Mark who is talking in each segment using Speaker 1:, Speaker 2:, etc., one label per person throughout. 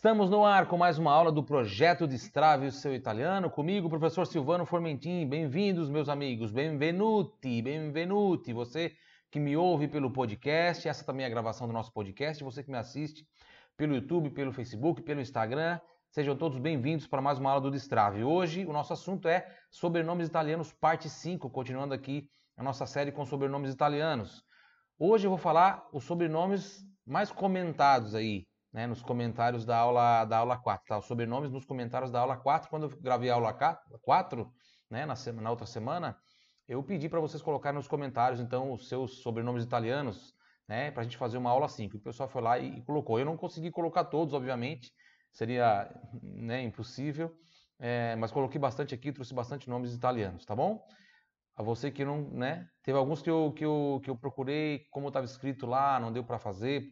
Speaker 1: Estamos no ar com mais uma aula do Projeto Destrave o Seu Italiano. Comigo, professor Silvano Formentin. Bem-vindos, meus amigos. Benvenuti, benvenuti. Você que me ouve pelo podcast, essa também é a gravação do nosso podcast. Você que me assiste pelo YouTube, pelo Facebook, pelo Instagram. Sejam todos bem-vindos para mais uma aula do Destrave. Hoje o nosso assunto é sobrenomes italianos, parte 5, continuando aqui a nossa série com sobrenomes italianos. Hoje eu vou falar os sobrenomes mais comentados aí, né, nos comentários da aula 4, tá? Os sobrenomes nos comentários da aula 4, quando eu gravei a aula 4, né, na outra semana, eu pedi para vocês colocarem nos comentários, então, os seus sobrenomes italianos, né, para a gente fazer uma aula 5. O pessoal foi lá e colocou. Eu não consegui colocar todos, obviamente, seria, né, impossível, mas coloquei bastante aqui, trouxe bastante nomes italianos, tá bom? A você que não, né, teve alguns que eu procurei, como estava escrito lá, não deu para fazer,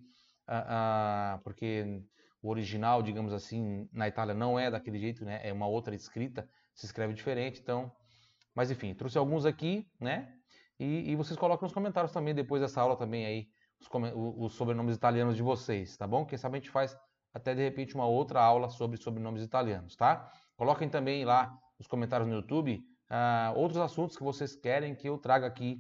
Speaker 1: porque o original, digamos assim, na Itália não é daquele jeito, né? É uma outra escrita, se escreve diferente, então... Mas enfim, trouxe alguns aqui, né? E vocês colocam nos comentários também, depois dessa aula também aí, os sobrenomes italianos de vocês, tá bom? Quem sabe a gente faz até de repente uma outra aula sobre sobrenomes italianos, tá? Coloquem também lá nos comentários no YouTube outros assuntos que vocês querem que eu traga aqui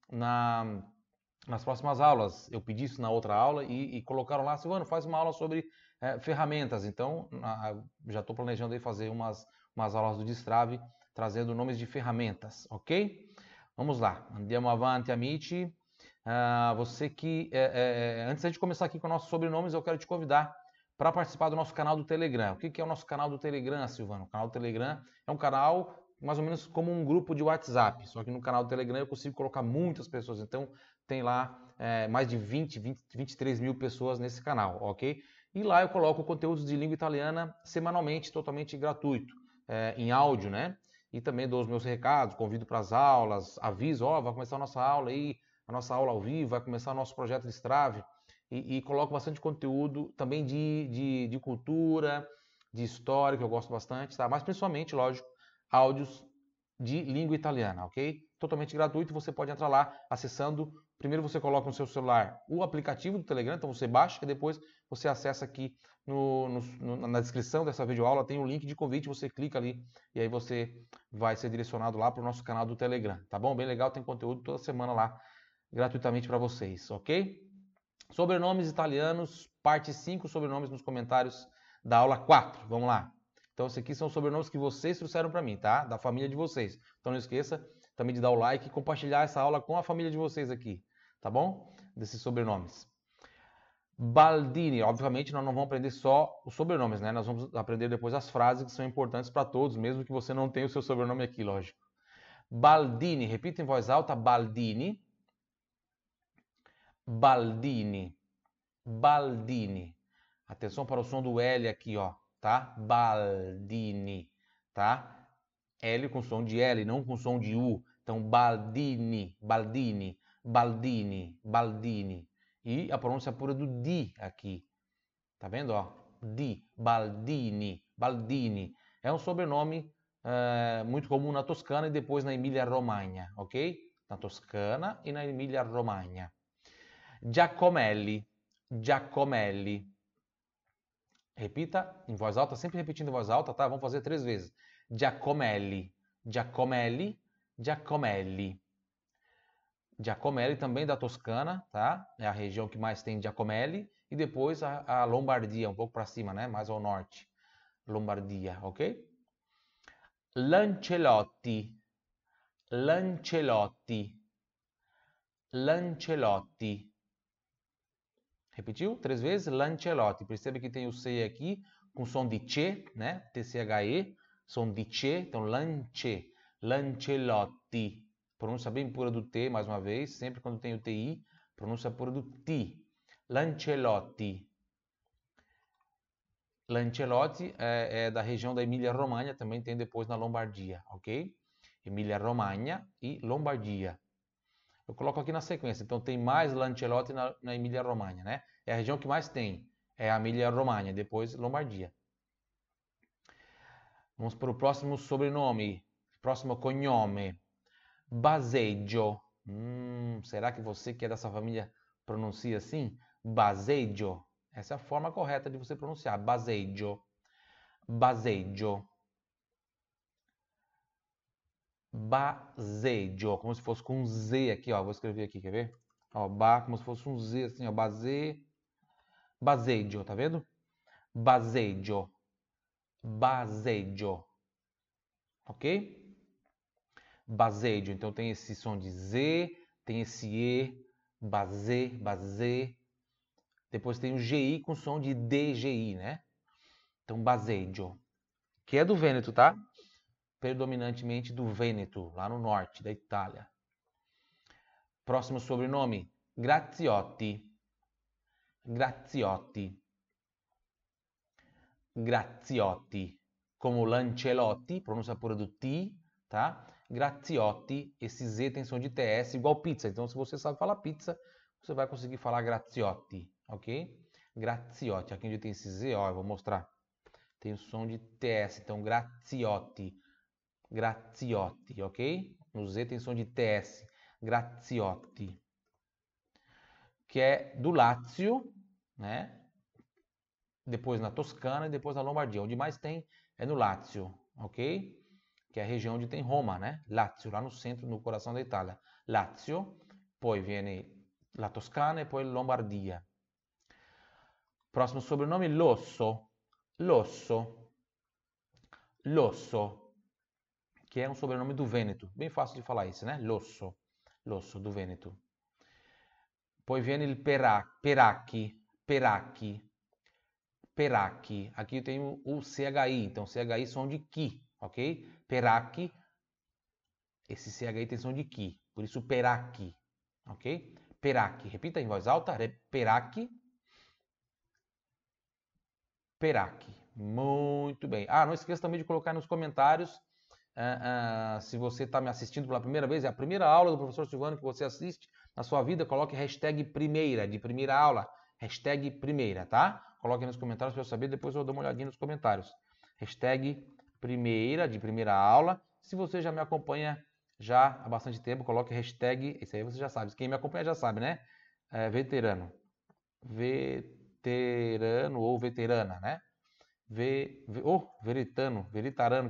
Speaker 1: nas próximas aulas. Eu pedi isso na outra aula e colocaram lá, Silvano, faz uma aula sobre ferramentas. Então, já estou planejando aí fazer umas aulas do Destrave, trazendo nomes de ferramentas, ok? Vamos lá, andiamo avanti, amici. Você que, antes de começar aqui com nossos sobrenomes, eu quero te convidar para participar do nosso canal do Telegram. O que é o nosso canal do Telegram, Silvano? O canal do Telegram é um canal mais ou menos como um grupo de WhatsApp, só que no canal do Telegram eu consigo colocar muitas pessoas, então tem lá mais de 23 mil pessoas nesse canal, ok? E lá eu coloco conteúdos de língua italiana semanalmente, totalmente gratuito, em áudio, né? E também dou os meus recados, convido para as aulas, aviso, vai começar a nossa aula aí, a nossa aula ao vivo, vai começar o nosso projeto Destrave, e coloco bastante conteúdo também de cultura, de história, que eu gosto bastante, tá? Mas principalmente, lógico, áudios de língua italiana, ok? Totalmente gratuito, você pode entrar lá acessando. Primeiro você coloca no seu celular o aplicativo do Telegram, então você baixa e depois você acessa aqui na descrição dessa videoaula, tem um link de convite, você clica ali e aí você vai ser direcionado lá para o nosso canal do Telegram, tá bom? Bem legal, tem conteúdo toda semana lá gratuitamente para vocês, ok? Sobrenomes italianos, parte 5, sobrenomes nos comentários da aula 4. Vamos lá. Então, esses aqui são os sobrenomes que vocês trouxeram para mim, tá? Da família de vocês. Então, não esqueça também de dar o like e compartilhar essa aula com a família de vocês aqui, tá bom? Desses sobrenomes. Baldini, obviamente nós não vamos aprender só os sobrenomes, né? Nós vamos aprender depois as frases que são importantes para todos, mesmo que você não tenha o seu sobrenome aqui, lógico. Baldini, repita em voz alta, Baldini. Baldini. Baldini. Atenção para o som do L aqui, ó, tá? Baldini, tá? L com som de L, não com som de U. Então, Baldini, Baldini, Baldini, Baldini. E a pronúncia pura do D aqui. Tá vendo, ó? D, Baldini, Baldini. É um sobrenome muito comum na Toscana e depois na Emília-Romagna, ok? Na Toscana e na Emília-Romagna. Giacomelli, Giacomelli. Repita em voz alta, sempre repetindo em voz alta, tá? Vamos fazer 3 vezes. Giacomelli, Giacomelli, Giacomelli. Giacomelli também da Toscana, tá? É a região que mais tem Giacomelli. E depois a Lombardia, um pouco para cima, né? Mais ao norte. Lombardia, ok? Lancelotti, Lancelotti, Lancelotti. Repetiu? 3 vezes? Lancelotti. Percebe que tem o C aqui com som de C, né? TCHE, som de C. Então, lance, Lancelotti. Pronúncia bem pura do T, mais uma vez. Sempre quando tem o TI, pronúncia pura do T. Lancelotti. Lancelotti é da região da Emília-Romagna, também tem depois na Lombardia, ok? Emília-Romagna e Lombardia. Eu coloco aqui na sequência. Então, tem mais Lancelotti na Emília-Romagna, né? É a região que mais tem. É a Emília-Romagna, depois Lombardia. Vamos para o próximo sobrenome. Próximo cognome. Baseggio. Será que você que é dessa família pronuncia assim? Baseggio. Essa é a forma correta de você pronunciar. Baseggio. Baseggio. Baseggio. Como se fosse com um Z aqui, ó. Vou escrever aqui, quer ver? Ó, como se fosse um Z assim, ó. Baseggio, tá vendo? Baseggio. Baseggio. Ok? Baseggio. Então tem esse som de Z, tem esse E, base. Depois tem o GI com som de DGI, né? Então, Baseggio. Que é do Vêneto, tá? Predominantemente do Vêneto, lá no norte da Itália. Próximo sobrenome, Graziotti. Graziotti. Graziotti. Como Lancelotti, pronúncia pura do T, tá? Graziotti, esse Z tem som de TS igual pizza. Então, se você sabe falar pizza, você vai conseguir falar Graziotti, ok? Graziotti. Aqui onde tem esse Z, ó, eu vou mostrar. Tem o som de TS, então Graziotti. Graziotti, ok? No Z tem som de TS. Graziotti. Que é do Lácio, né? Depois na Toscana e depois na Lombardia. Onde mais tem é no Lácio, ok? Que é a região onde tem Roma, né? Lácio, lá no centro, no coração da Itália. Lácio, poi viene la Toscana e poi Lombardia. Próximo sobrenome, Losso. Losso. Losso. Que é um sobrenome do Vêneto. Bem fácil de falar isso, né? Losso. Losso, do Vêneto. Poi viene il Peracchi. Peracchi. Peracchi. Aqui eu tenho o CHI. Então, CHI som de Ki, ok? Peracchi. Esse CHI tem som de Ki. Por isso, Peracchi. Ok? Peracchi. Repita em voz alta. Peracchi. Peracchi. Muito bem. Ah, não esqueça também de colocar nos comentários se você está me assistindo pela primeira vez. É a primeira aula do professor Silvano que você assiste na sua vida. Coloque hashtag primeira, de primeira aula. Hashtag primeira, tá? Coloque nos comentários para eu saber. Depois eu dou uma olhadinha nos comentários. Hashtag primeira, de primeira aula. Se você já me acompanha já há bastante tempo, coloque hashtag. Isso aí você já sabe. Quem me acompanha já sabe, né? Veterano. Veterano ou veterana, né? Veritarano,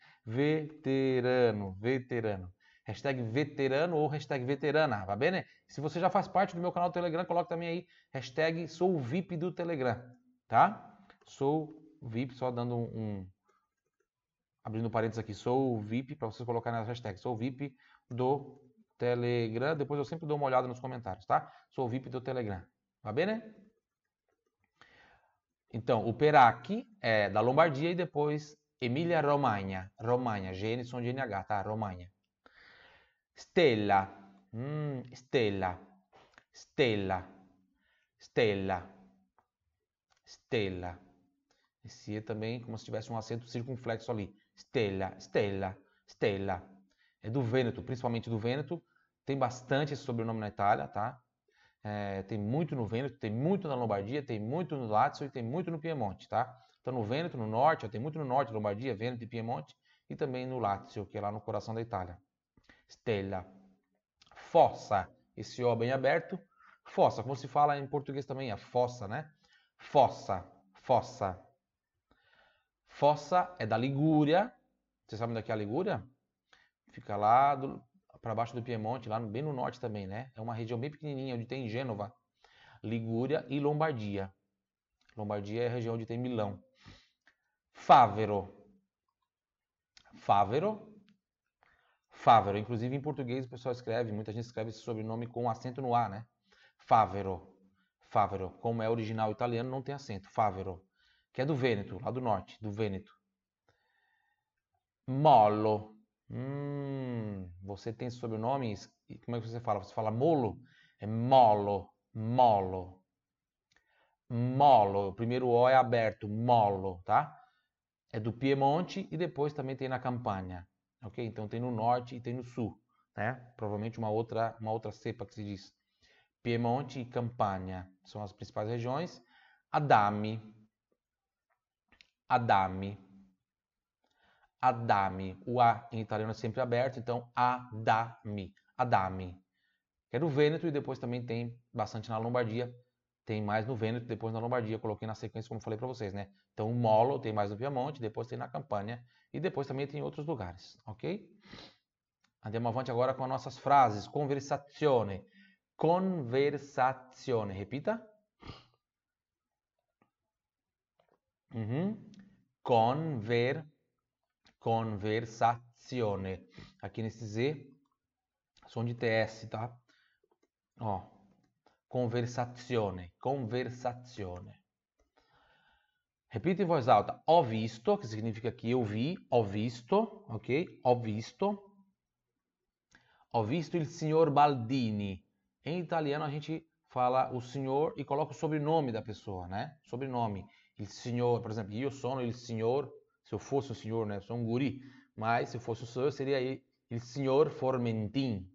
Speaker 1: veterano. Hashtag veterano ou hashtag veterana, va bene? Se você já faz parte do meu canal do Telegram, coloque também aí hashtag sou VIP do Telegram, tá? Sou VIP, só dando abrindo parênteses aqui, sou VIP, para vocês colocarem nas hashtags, sou VIP do Telegram, depois eu sempre dou uma olhada nos comentários, tá? Sou VIP do Telegram, va bene? Então, o Peracchi é da Lombardia e depois Emília-Romagna. Romagna, GN som de NH, tá? Romagna. Stella. Stella. Stella. Stella. Stella. Esse E também, como se tivesse um acento circunflexo ali. Stella. Stella. Stella. É do Vêneto, principalmente do Vêneto. Tem bastante esse sobrenome na Itália, tá? Tem muito no Vêneto, tem muito na Lombardia, tem muito no Lácio e tem muito no Piemonte, tá? Então no Vêneto, no norte, tem muito no norte, Lombardia, Vêneto e Piemonte, e também no Lácio, que é lá no coração da Itália. Stella. Fossa, esse O bem aberto. Fossa, como se fala em português também, a fossa, né? Fossa, fossa. Fossa é da Ligúria. Vocês sabem daqui a Ligúria? Fica lá para baixo do Piemonte, lá bem no norte também, né? É uma região bem pequenininha, onde tem Gênova, Ligúria e Lombardia. Lombardia é a região onde tem Milão. Favero. Favero. Favero. Inclusive em português o pessoal escreve, muita gente escreve esse sobrenome com acento no A, né? Favero. Favero. Como é original italiano, não tem acento. Favero. Que é do Vêneto, lá do norte, do Vêneto. Mollo. Você tem sobrenomes, como é que você fala? Você fala molo? É molo, molo. Molo, o primeiro O é aberto, molo, tá? É do Piemonte e depois também tem na Campania, ok? Então tem no norte e tem no sul, né? Provavelmente uma outra cepa que se diz. Piemonte e Campania são as principais regiões. Adami. Adami. Adami. O A em italiano é sempre aberto, então Adami. Adami. Que é do Vêneto e depois também tem bastante na Lombardia. tem mais no Vêneto, depois na Lombardia, coloquei na sequência como falei para vocês, né? Então o Molo tem mais no Piemonte, depois tem na Campania e depois também tem em outros lugares, ok? Andiamo avanti agora com as nossas frases. Conversazione. Conversazione. Repita. Conversazione. Aqui nesse Z, som de TS, tá? Ó. Conversazione. Conversazione. Repita em voz alta. Ho visto, que significa que eu vi. Ho visto, ok? Ho visto. Ho visto il signor Baldini. Em italiano a gente fala o senhor e coloca o sobrenome da pessoa, né? Sobrenome. Il signor, por exemplo, io sono il signor, se eu fosse o senhor, né? Eu sou um guri, mas se eu fosse o senhor seria il signor Formentin.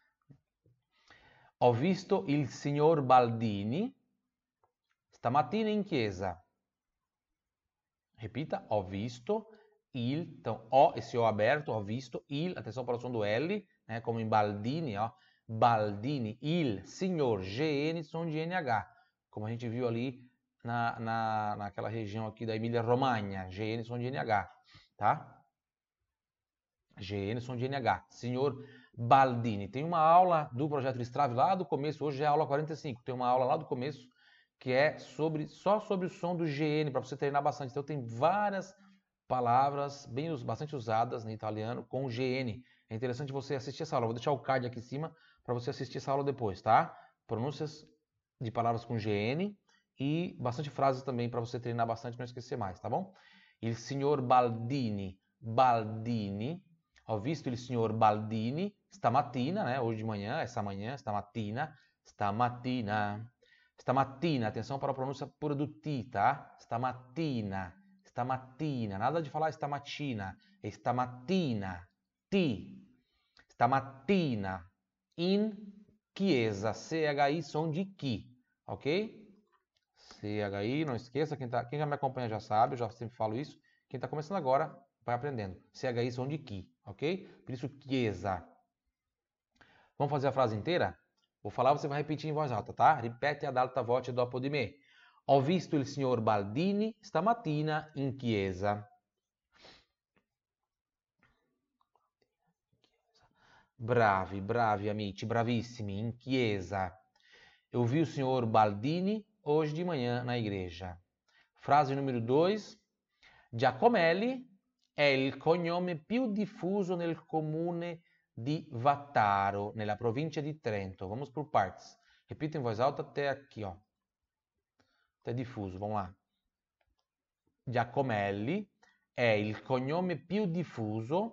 Speaker 1: Ho visto il signor Baldini stamattina in chiesa. Repita, ho visto il, então ho, esse o aberto, ho visto il, atenção para o som do L, né, como em Baldini, ó, Baldini, il, signor, GN, som de NH, como a gente viu ali naquela região aqui da Emília-Romagna, GN, som de NH, tá? GN, som de NH, senhor Baldini. Tem uma aula do Projeto Strave lá do começo, hoje é a aula 45, tem uma aula lá do começo que é só sobre o som do GN, para você treinar bastante. Então tem várias palavras bastante usadas no italiano com GN. É interessante você assistir essa aula. Vou deixar o card aqui em cima para você assistir essa aula depois, tá? Pronúncias de palavras com GN e bastante frases também para você treinar bastante e não esquecer mais, tá bom? Il signor Baldini. Baldini. Ho visto il signor Baldini stamattina, né? Hoje de manhã, essa manhã, stamattina. Stamattina. Stamattina, atenção para a pronúncia pura do ti, tá? Stamattina. Stamattina, nada de falar stamattina, é stamattina, ti, stamattina, in chiesa, CHI, som de chi, ok? CHI, não esqueça, quem já me acompanha já sabe, eu já sempre falo isso, quem está começando agora vai aprendendo, CHI, som de chi, ok? Por isso, chiesa. Vamos fazer a frase inteira? Vou falar, você vai repetir em voz alta, tá? Ripete ad alta voce dopo di me. Ho visto il signor Baldini stamattina in chiesa. Bravi, bravi amici, bravissimi, in chiesa. Eu vi o senhor Baldini hoje de manhã na igreja. Frase número 2. Giacomelli è il cognome più diffuso nel comune di Vattaro, nella provincia di Trento. Vamos por partes. Repita em voz alta até aqui, ó. Até diffuso, vamos lá. Giacomelli è il cognome più diffuso.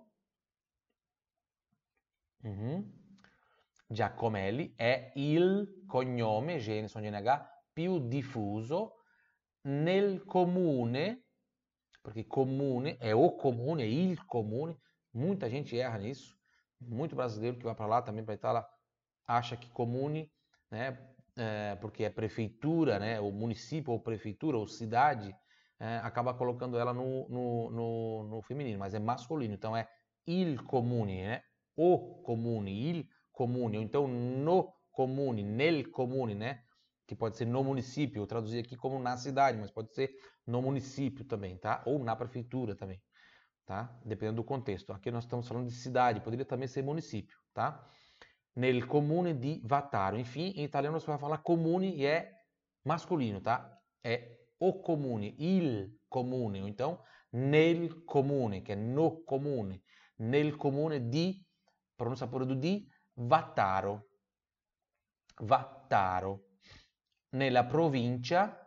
Speaker 1: Giacomelli è il cognome, gene sono GNH, più diffuso nel comune, perché comune é o comune, é il comune, muita gente erra nisso, muito brasileiro que vai para lá também, para Itália, acha que comune, né, porque é prefeitura, né, o município ou prefeitura ou cidade, acaba colocando ela no feminino, mas é masculino, então é il comune, né, o comune, il comune, ou então no comune, nel comune, né, que pode ser no município, eu traduzi aqui como na cidade, mas pode ser no município também, tá? Ou na prefeitura também, tá? Dependendo do contexto. Aqui nós estamos falando de cidade, poderia também ser município, tá? Nel comune di Vattaro. Enfim, em italiano você vai falar comune e é masculino, tá? É o comune, il comune, ou então nel comune, que é no comune, nel comune di, pronúncia pura do di, Vattaro. Vattaro. Nella provincia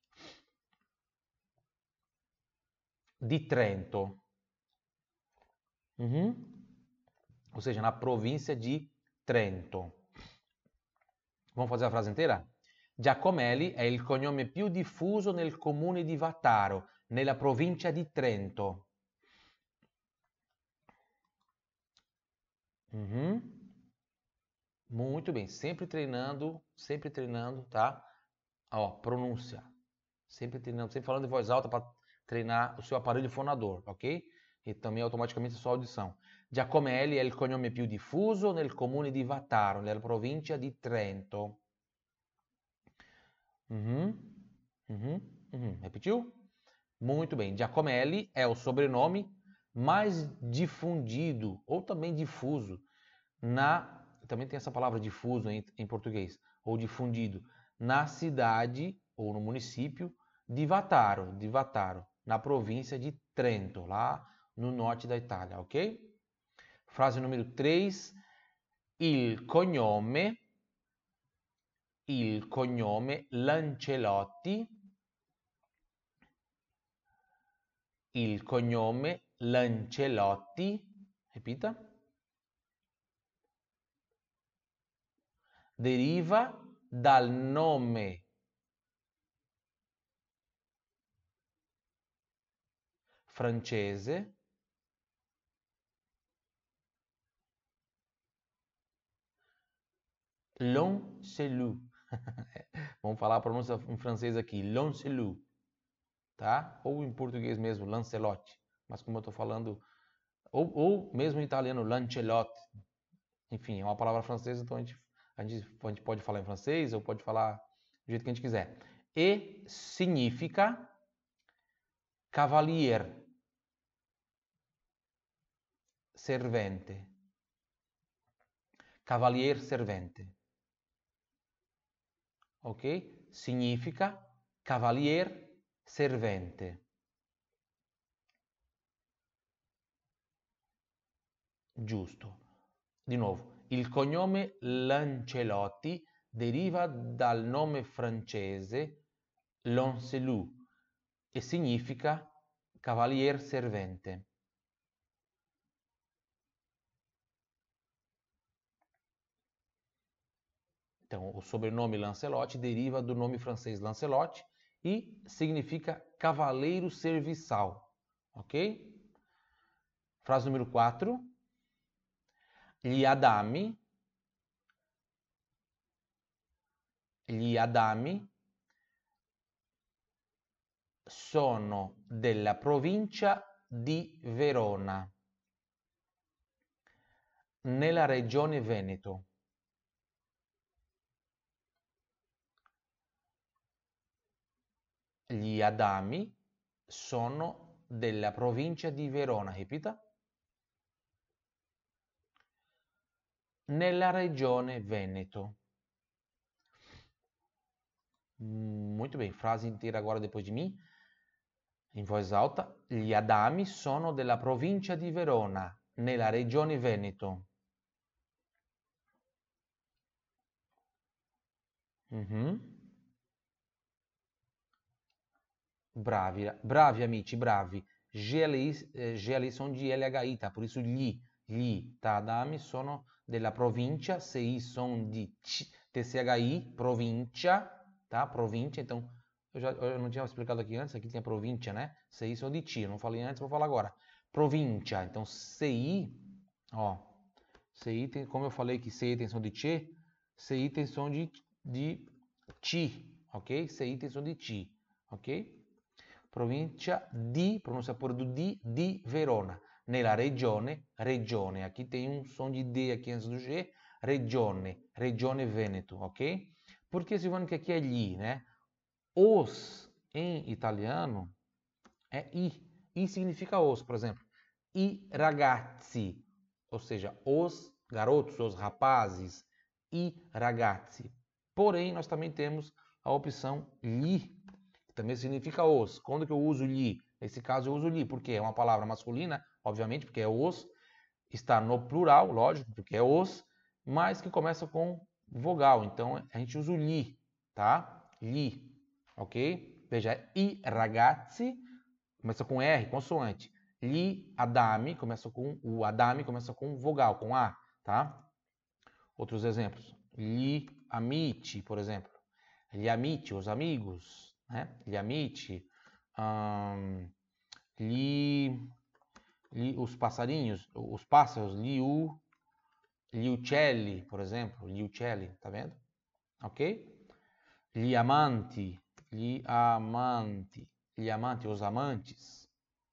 Speaker 1: di Trento. Ou seja, na província de Trento. Vamos fazer a frase inteira? Giacomelli è il cognome più diffuso nel comune di Vattaro, nella provincia di Trento. Muito bem, sempre treinando, tá? Ó, pronúncia. Sempre treinando, sempre falando em voz alta para treinar o seu aparelho fonador, ok? E também automaticamente a sua audição. Giacomelli è il cognome più diffuso nel comune di Vattaro, nella provincia di Trento. Repetiu? Muito bem. Giacomelli é o sobrenome mais difundido ou também difuso também tem essa palavra difuso em português, ou difundido, na cidade ou no município di Vataro, na província de Trento, lá no norte da Itália, ok? Frase número 3, il cognome Lancelotti, ripeta, deriva dal nome francese Lancelot. Vamos falar a pronúncia em francês aqui, Lancelot, tá? Ou em português mesmo, Lancelot. Mas como eu estou falando, ou mesmo em italiano, Lancelot. Enfim, é uma palavra francesa, então a gente pode falar em francês ou pode falar do jeito que a gente quiser. E significa cavalier servente. Cavalier servente. Ok? Significa cavalier servente. Giusto. Di nuovo, il cognome Lancelotti deriva dal nome francese Lancelot e significa cavalier servente. Então, o sobrenome Lancelotti deriva do nome francês Lancelot e significa cavaleiro serviçal, ok? Frase número 4. Gli Adami sono della provincia di Verona, nella regione Veneto. Gli Adami sono della provincia di Verona, ripeta. Nella regione Veneto. Muito bem, frase inteira agora depois de mim, in voz alta. Gli Adami sono della provincia di Verona, nella regione Veneto. Bravi amici, bravi. GLI sono GLHI, tá? Por isso gli, tá? Adami sono della provincia, CI sono di TCHI, provincia, tá? Provincia, então eu não tinha explicado aqui antes, aqui tinha provincia, né? CI sono di C, eu não falei antes, vou falar agora. Provincia, então CI, ó, CI tem, como eu falei que CI tem som de C, CI tem som de T, ok? CI tem som de T, ok? Provincia di, pronuncia pure do di Verona, nella regione, aqui tem um som de D aqui antes do G, regione Veneto, ok? Porque Silvano que aqui é gli, né? Os em italiano é i significa os, por exemplo, i ragazzi, ou seja, os garotos, os rapazes, i ragazzi. Porém, nós também temos a opção gli, que também significa os. Quando que eu uso gli? Nesse caso eu uso gli, porque é uma palavra masculina, obviamente, porque é os, está no plural, lógico, porque é os, mas que começa com vogal. Então a gente usa o gli, tá? Gli, ok? Veja, i ragazzi, começa com R, consoante. Gli Adami, o Adami começa com vogal, com A, tá? Outros exemplos. Gli amici, por exemplo. Gli amici, os amigos, né? Gli amici. Os passarinhos, os pássaros. Gli uccelli, por exemplo. Gli uccelli, tá vendo? Ok? Gli amanti, os amantes.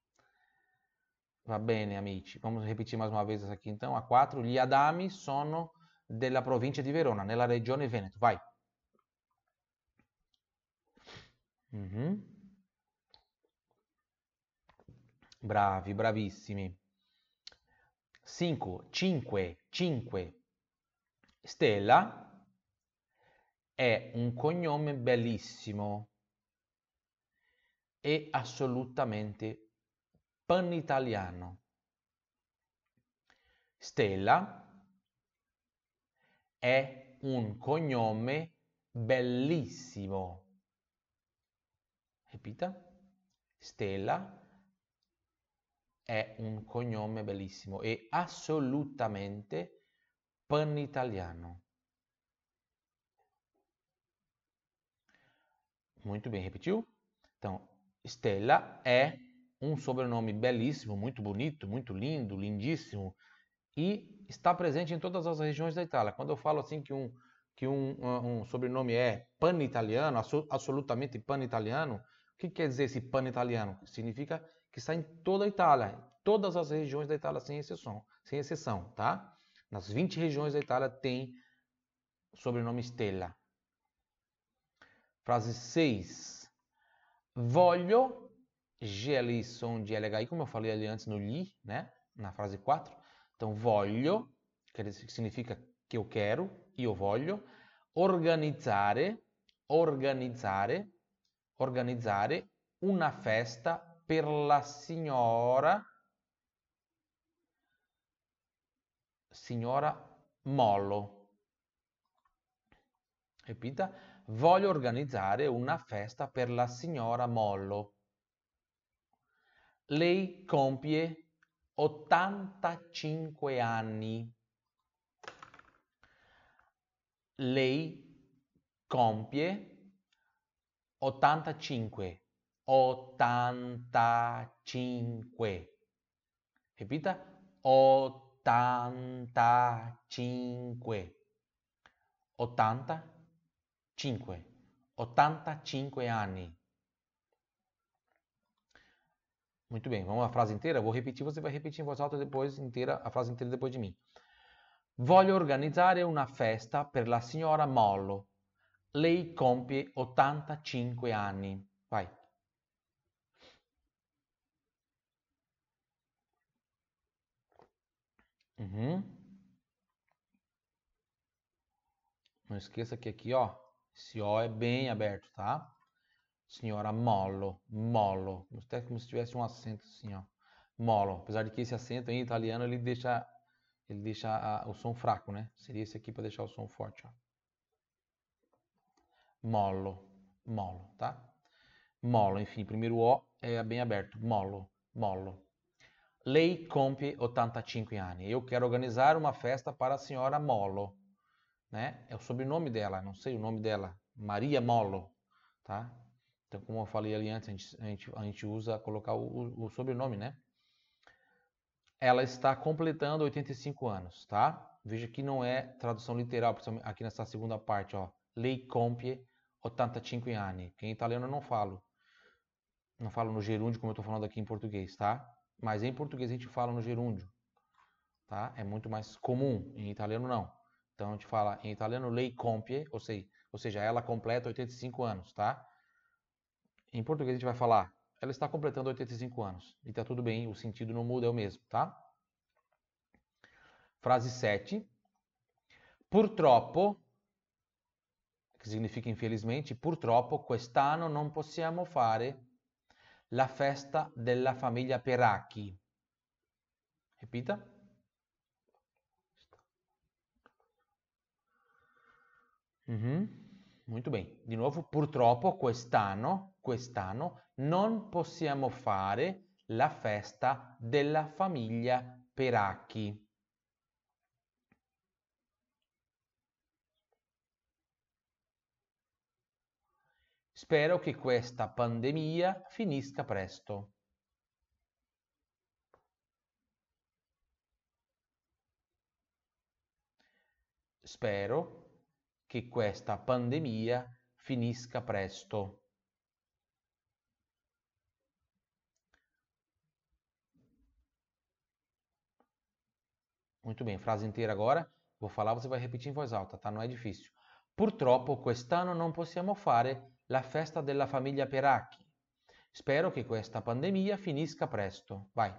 Speaker 1: Va bene, amici. Vamos repetir mais uma vez essa aqui então. A 4. Gli Adami sono della provincia di Verona, nella regione Veneto. Vai. Mhm. Bravi, bravissimi. 5. Stella è un cognome bellissimo e assolutamente panitaliano. Stella è un cognome bellissimo. Ripeta. Stella è un cognome bellissimo e assolutamente panitaliano. Muito bem, repetiu? Então, Stella é um sobrenome belíssimo, muito bonito, muito lindo, lindíssimo e está presente em todas as regiões da Itália. Quando eu falo assim que um sobrenome é pan-italiano, absolutamente pan-italiano, o que quer dizer esse pan-italiano? Significa que está em toda a Itália, todas as regiões da Itália, sem exceção, tá? Nas 20 regiões da Itália tem sobrenome Stella. Frase 6. Voglio, G ali, som de LHI, como eu falei ali antes no li, né? Na frase 4. Então, voglio, que significa que eu quero, io voglio, organizzare una festa per la signora Mollo. Ripeta, voglio organizzare una festa per la signora Mollo. Lei compie 85 anni. Lei compie 85. 85. Ripeta, 85. 85. 85 anni. Muito bem, vamos à frase inteira? Vou repetir, você vai repetir em voz alta depois inteira, a frase inteira depois de mim. Voglio organizzare una festa per la signora Mollo. Lei compie 85 anni. Vai. Uhum. Não esqueça que aqui, ó, esse O é bem aberto, tá? Signora Mollo, Mollo. Até como se tivesse um acento assim, ó. Mollo. Apesar de que esse acento em italiano ele deixa o som fraco, né? Seria esse aqui para deixar o som forte, ó. Mollo, mollo, tá? Mollo, enfim, primeiro O é bem aberto. Mollo, mollo. Lei compie 85 anni. Eu quero organizar uma festa para a senhora Mollo, né? É o sobrenome dela, não sei o nome dela. Maria Mollo, tá? Então, como eu falei ali antes, a gente usa colocar o sobrenome, né? Ela está completando 85 anos, tá? Veja que não é tradução literal, aqui nessa segunda parte, ó. Lei compie 85 anni. Que em italiano eu não falo. Não falo no gerúndio como eu estou falando aqui em português, tá? Mas em português a gente fala no gerúndio, tá? É muito mais comum, em italiano não. Então a gente fala em italiano lei compie, ou seja, ela completa 85 anos, tá? Em português a gente vai falar, ela está completando 85 anos. E tá tudo bem, o sentido não muda, é o mesmo, tá? Frase 7. Purtroppo, che significa infelizmente, purtroppo quest'anno non possiamo fare la festa della famiglia Peracchi. Ripeta. Muito bem. Di nuovo, purtroppo quest'anno non possiamo fare la festa della famiglia Peracchi. Spero che questa pandemia finisca presto. Spero che questa pandemia finisca presto. Muito bem, frase inteira agora. Vou falar, você vai repetir em voz alta, tá? Não é difícil. Purtroppo quest'anno non possiamo fare la festa della famiglia Peracchi. Spero che questa pandemia finisca presto. Vai.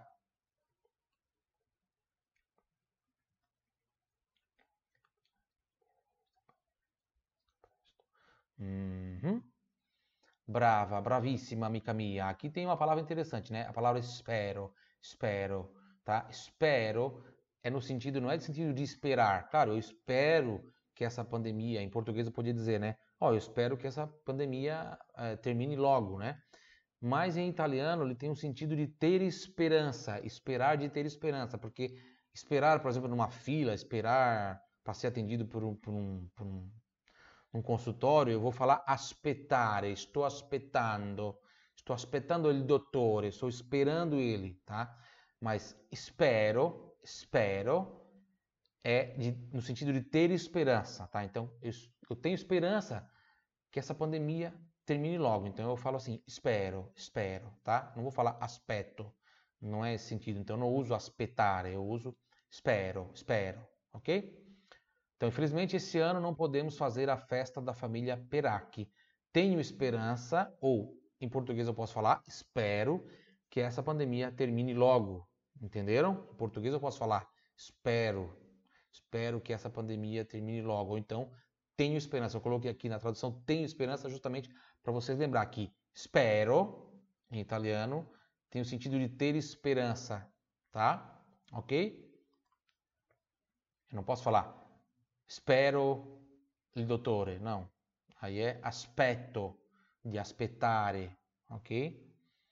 Speaker 1: Uhum. Brava, bravíssima, amiga minha. Aqui tem uma palavra interessante, né? A palavra espero, espero, tá? Espero é no sentido, não é no sentido de esperar. Claro, eu espero que essa pandemia, em português eu podia dizer, né? Ó, eu espero que essa pandemia termine logo, né? Mas em italiano ele tem um sentido de ter esperança, esperar de ter esperança, porque esperar, por exemplo, numa fila, esperar para ser atendido por um consultório, eu vou falar aspettare, estou aspettando il dottore, estou esperando ele, tá? Mas espero no sentido de ter esperança, tá? Então, eu tenho esperança que essa pandemia termine logo. Então, eu falo assim, espero, tá? Não vou falar aspetto, não é esse sentido. Então, eu não uso aspettare, eu uso espero, ok? Então, infelizmente, esse ano não podemos fazer a festa da família Peracchi. Tenho esperança, ou em português eu posso falar, espero que essa pandemia termine logo. Entenderam? Em português eu posso falar, espero que essa pandemia termine logo. Ou então, tenho esperança. Eu coloquei aqui na tradução, tenho esperança justamente para vocês lembrar que espero, em italiano, tem o sentido de ter esperança, tá? Ok? Eu não posso falar spero il dottore, no. Aí é aspetto, di aspettare, ok?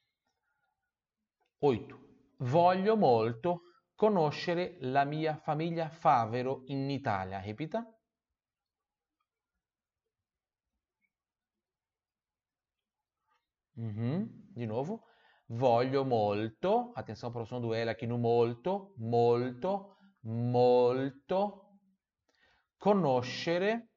Speaker 1: 8. Voglio molto conoscere la mia famiglia Favero in Italia. Ripeta. Di nuovo. Voglio molto, atenção para o som do L aqui no molto, molto, conoscere,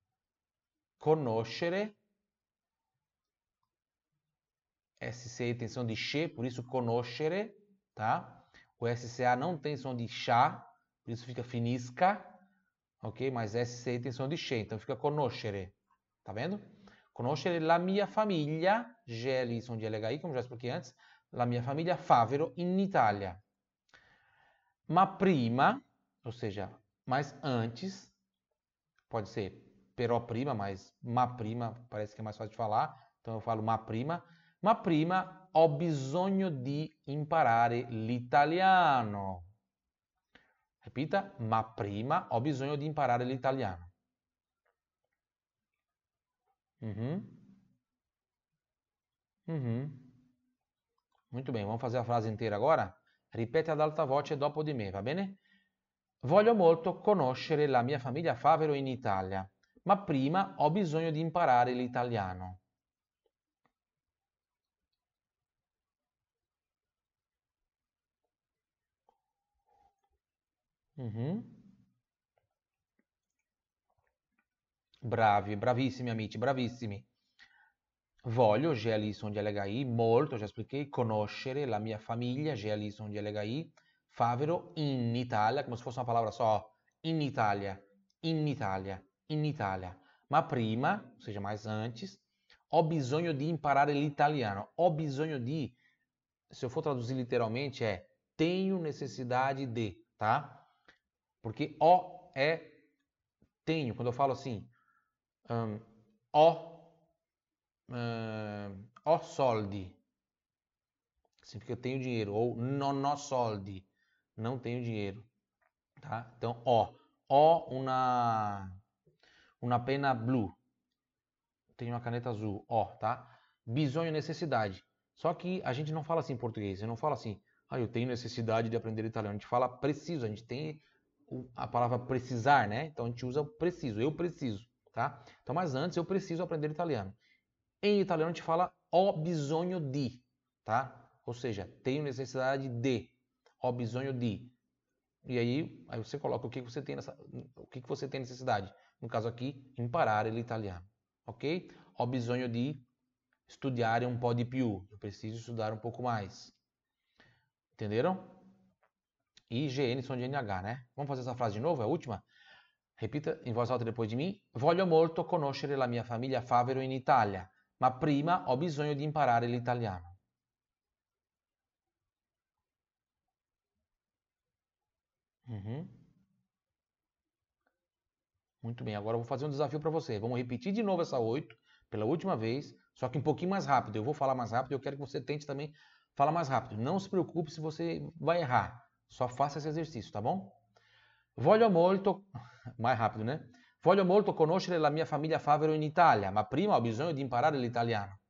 Speaker 1: SCA tem som de che, por isso conoscere, tá? O SCA não tem som de chá, por isso fica finisca, ok? Mas SCA tem som de che, então fica conoscere, tá vendo? Conoscere la mia famiglia, GLI som de LHI, como já expliquei antes, la mia famiglia Favero in Italia. Ma prima, ou seja, mas antes, pode ser però prima, mas ma prima parece que é mais fácil de falar, então eu falo ma prima ho bisogno di imparare l'italiano. Repita, ma prima ho bisogno di imparare l'italiano. Muito bem, vamos fazer a frase inteira agora? Ripete ad alta voce dopo di me, va bene? Voglio molto conoscere la mia famiglia Favero in Italia, ma prima ho bisogno di imparare l'italiano. Bravi, bravissimi amici, bravissimi. Voglio, GLI son di LHI, molto, già expliquei, conoscere la mia famiglia, GLI son di LHI, Favero in Italia, come se fosse una parola só, in Italia, in Italia, in Italia. Ma prima, ou seja, mais antes, ho bisogno di imparare l'italiano. Ho bisogno di, se eu for traduzir literalmente, é tenho necessidade de, tá? Porque ho é tenho. Quando eu falo assim, ho soldi, significa eu tenho dinheiro. Ou non ho soldi, não tenho dinheiro. Tá? Então, ho una penna blu, tenho uma caneta azul, tá? Bisogno, necessidade. Só que a gente não fala assim em português, eu não falo assim, eu tenho necessidade de aprender italiano. A gente fala preciso, a gente tem a palavra precisar, né? Então a gente usa preciso, eu preciso, tá? Então, mas antes eu preciso aprender italiano. Em italiano a gente fala ho bisogno di, tá? Ou seja, tenho necessidade de, ho bisogno di. E aí você coloca o que você tem o que você tem necessidade. No caso aqui, imparare l'italiano, ok? Ho bisogno di studiare un po' di più. Eu preciso estudar um pouco mais. Entenderam? E GN som de NH, né? Vamos fazer essa frase de novo, é a última? Repita em voz alta depois de mim. Voglio molto conoscere la mia famiglia Favero in Italia, ma prima ho bisogno di imparare l'italiano. Uhum. Muito bem, agora eu vou fazer um desafio para você. Vamos repetir de novo essa 8 pela última vez, só que um pouquinho mais rápido. Eu vou falar mais rápido e eu quero que você tente também falar mais rápido. Não se preocupe se você vai errar. Só faça esse exercício, tá bom? Voglio molto, mais rápido, né? Voglio molto conoscere la mia famiglia Favero in Italia, ma prima ho bisogno di imparare l'italiano.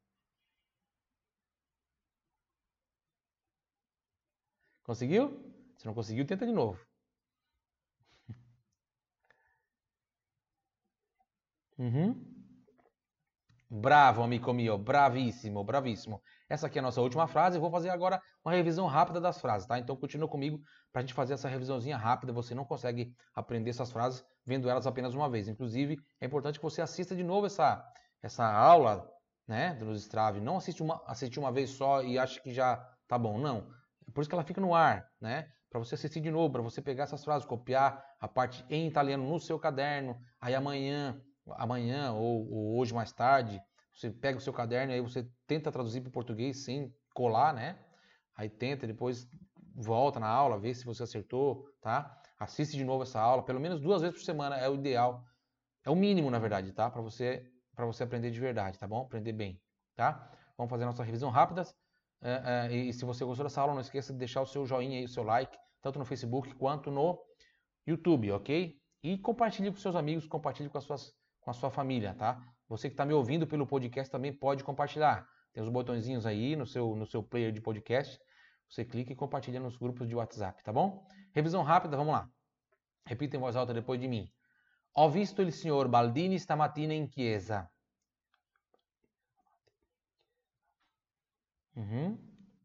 Speaker 1: Conseguiu? Se não conseguiu, tenta de novo. Uhum. Bravo, amico mio, bravissimo, bravissimo. Essa aqui é a nossa última frase. Eu vou fazer agora uma revisão rápida das frases, tá? Então continua comigo para a gente fazer essa revisãozinha rápida. Você não consegue aprender essas frases vendo elas apenas uma vez. Inclusive, é importante que você assista de novo essa aula, né, do Strave. Não assiste uma vez só e ache que já tá bom. Não. É por isso que ela fica no ar, né? Para você assistir de novo, para você pegar essas frases, copiar a parte em italiano no seu caderno. Aí amanhã ou hoje mais tarde, você pega o seu caderno e aí você tenta traduzir para o português sem colar, né? Aí tenta, depois volta na aula, vê se você acertou, tá? Assiste de novo essa aula, pelo menos 2 vezes por semana é o ideal. É o mínimo, na verdade, tá? Para você aprender de verdade, tá bom? Aprender bem, tá? Vamos fazer a nossa revisão rápida. E se você gostou dessa aula, não esqueça de deixar o seu joinha e o seu like, tanto no Facebook quanto no YouTube, ok? E compartilhe com seus amigos, compartilhe com a sua família, tá? Você que está me ouvindo pelo podcast também pode compartilhar. Tem os botõezinhos aí no seu player de podcast. Você clica e compartilha nos grupos de WhatsApp, tá bom? Revisão rápida, vamos lá. Repita em voz alta depois de mim. Ho visto il signor Baldini stamattina in chiesa. Mhm.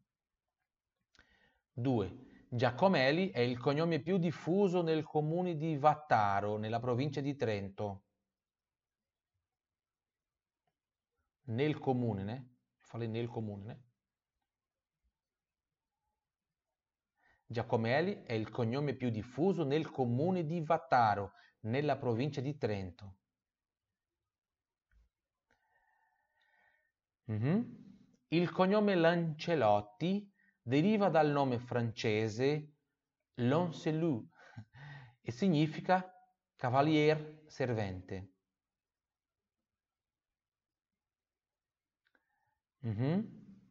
Speaker 1: 2. Giacomelli è il cognome più diffuso nel comune di Vattaro, nella provincia di Trento. Nel comune, né? Falei nel comune, né? Giacomelli è il cognome più diffuso nel comune di Vattaro, nella provincia di Trento. Mhm. Il cognome Lancelotti deriva dal nome francese Lancelot e significa cavalier servente. Mhm.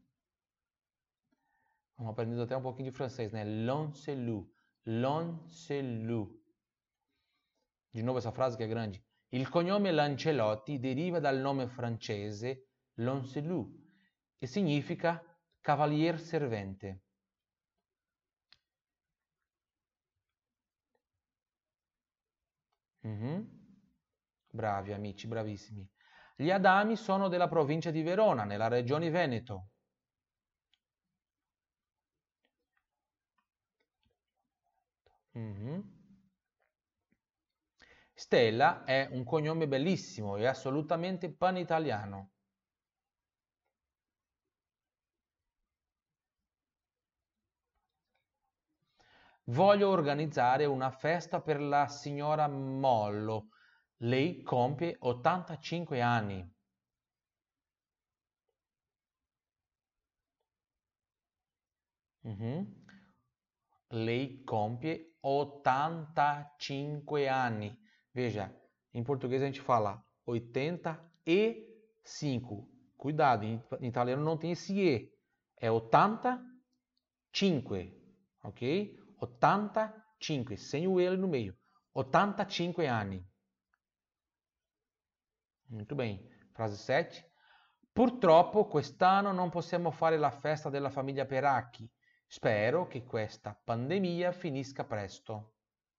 Speaker 1: Vamos aprendendo até um pouquinho de francês, né? Lancelot. Lancelot. De novo essa frase che è grande. Il cognome Lancelotti deriva dal nome francese Lancelot e significa cavalier servente. Mhm. Bravi amici, bravissimi. Gli Adami sono della provincia di Verona, nella regione Veneto. Mhm. Stella è un cognome bellissimo e assolutamente panitaliano. Voglio organizzare una festa per la signora Mollo. Lei compie 85 anni. Mhm. Lei compie 85 anni. Veja, em português a gente fala 85. Cuidado, em italiano não tem esse E. É 85, ok? 85, sem o E no meio. 85 anni. Muito bem. Frase 7. Purtroppo quest'anno non possiamo fare la festa della famiglia Peracchi. Spero che questa pandemia finisca presto.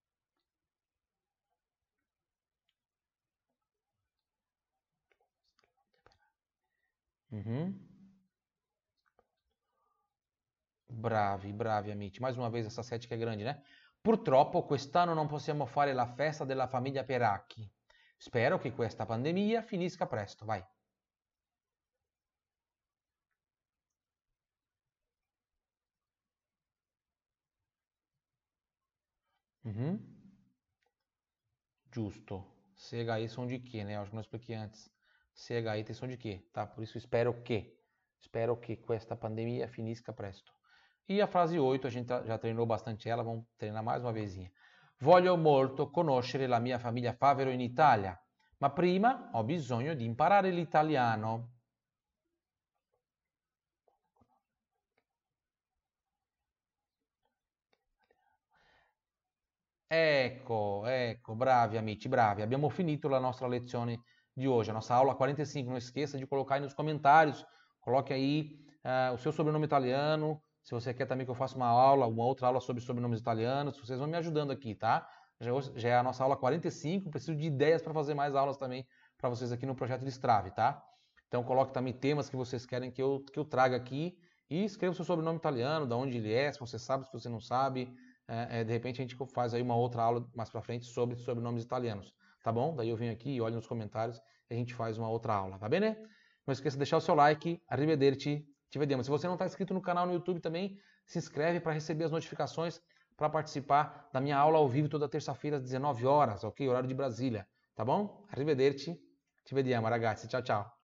Speaker 1: Mhm. Bravi, bravi amici. Mais uma vez essa 7 que é grande, né? Purtroppo quest'anno non possiamo fare la festa della famiglia Peracchi. Spero che questa pandemia finisca presto. Vai. Mhm. Giusto. Se aí são de quê, né? Eu acho que não expliquei antes. CH aí tem som de que, tá? Por isso espero que questa pandemia finisca presto. E a frase 8, a gente já treinou bastante ela, vamos treinar mais uma vezinha. Voglio molto conoscere la mia famiglia Favero in Italia, ma prima ho bisogno di imparare l'italiano. Ecco, bravi amici, bravi. Abbiamo finito la nostra lezione di hoje, a nossa aula 45. Não esqueça de colocar aí nos comentários, coloque aí o seu sobrenome italiano, se você quer também que eu faça uma outra aula sobre sobrenomes italianos, vocês vão me ajudando aqui, tá? Já é a nossa aula 45, preciso de ideias para fazer mais aulas também para vocês aqui no projeto Destrave, tá? Então coloque também temas que vocês querem que eu traga aqui e escreva o seu sobrenome italiano, de onde ele é, se você sabe, se você não sabe. De repente a gente faz aí uma outra aula mais para frente sobre sobrenomes italianos, tá bom? Daí eu venho aqui e olho nos comentários e a gente faz uma outra aula, tá bem, né? Não esqueça de deixar o seu like, arrivederci, ci vediamo. Se você não está inscrito no canal no YouTube também, se inscreve para receber as notificações para participar da minha aula ao vivo toda terça-feira às 19 horas, ok? Horário de Brasília, tá bom? Arrivederci, ci vediamo ragazzi, tchau, tchau.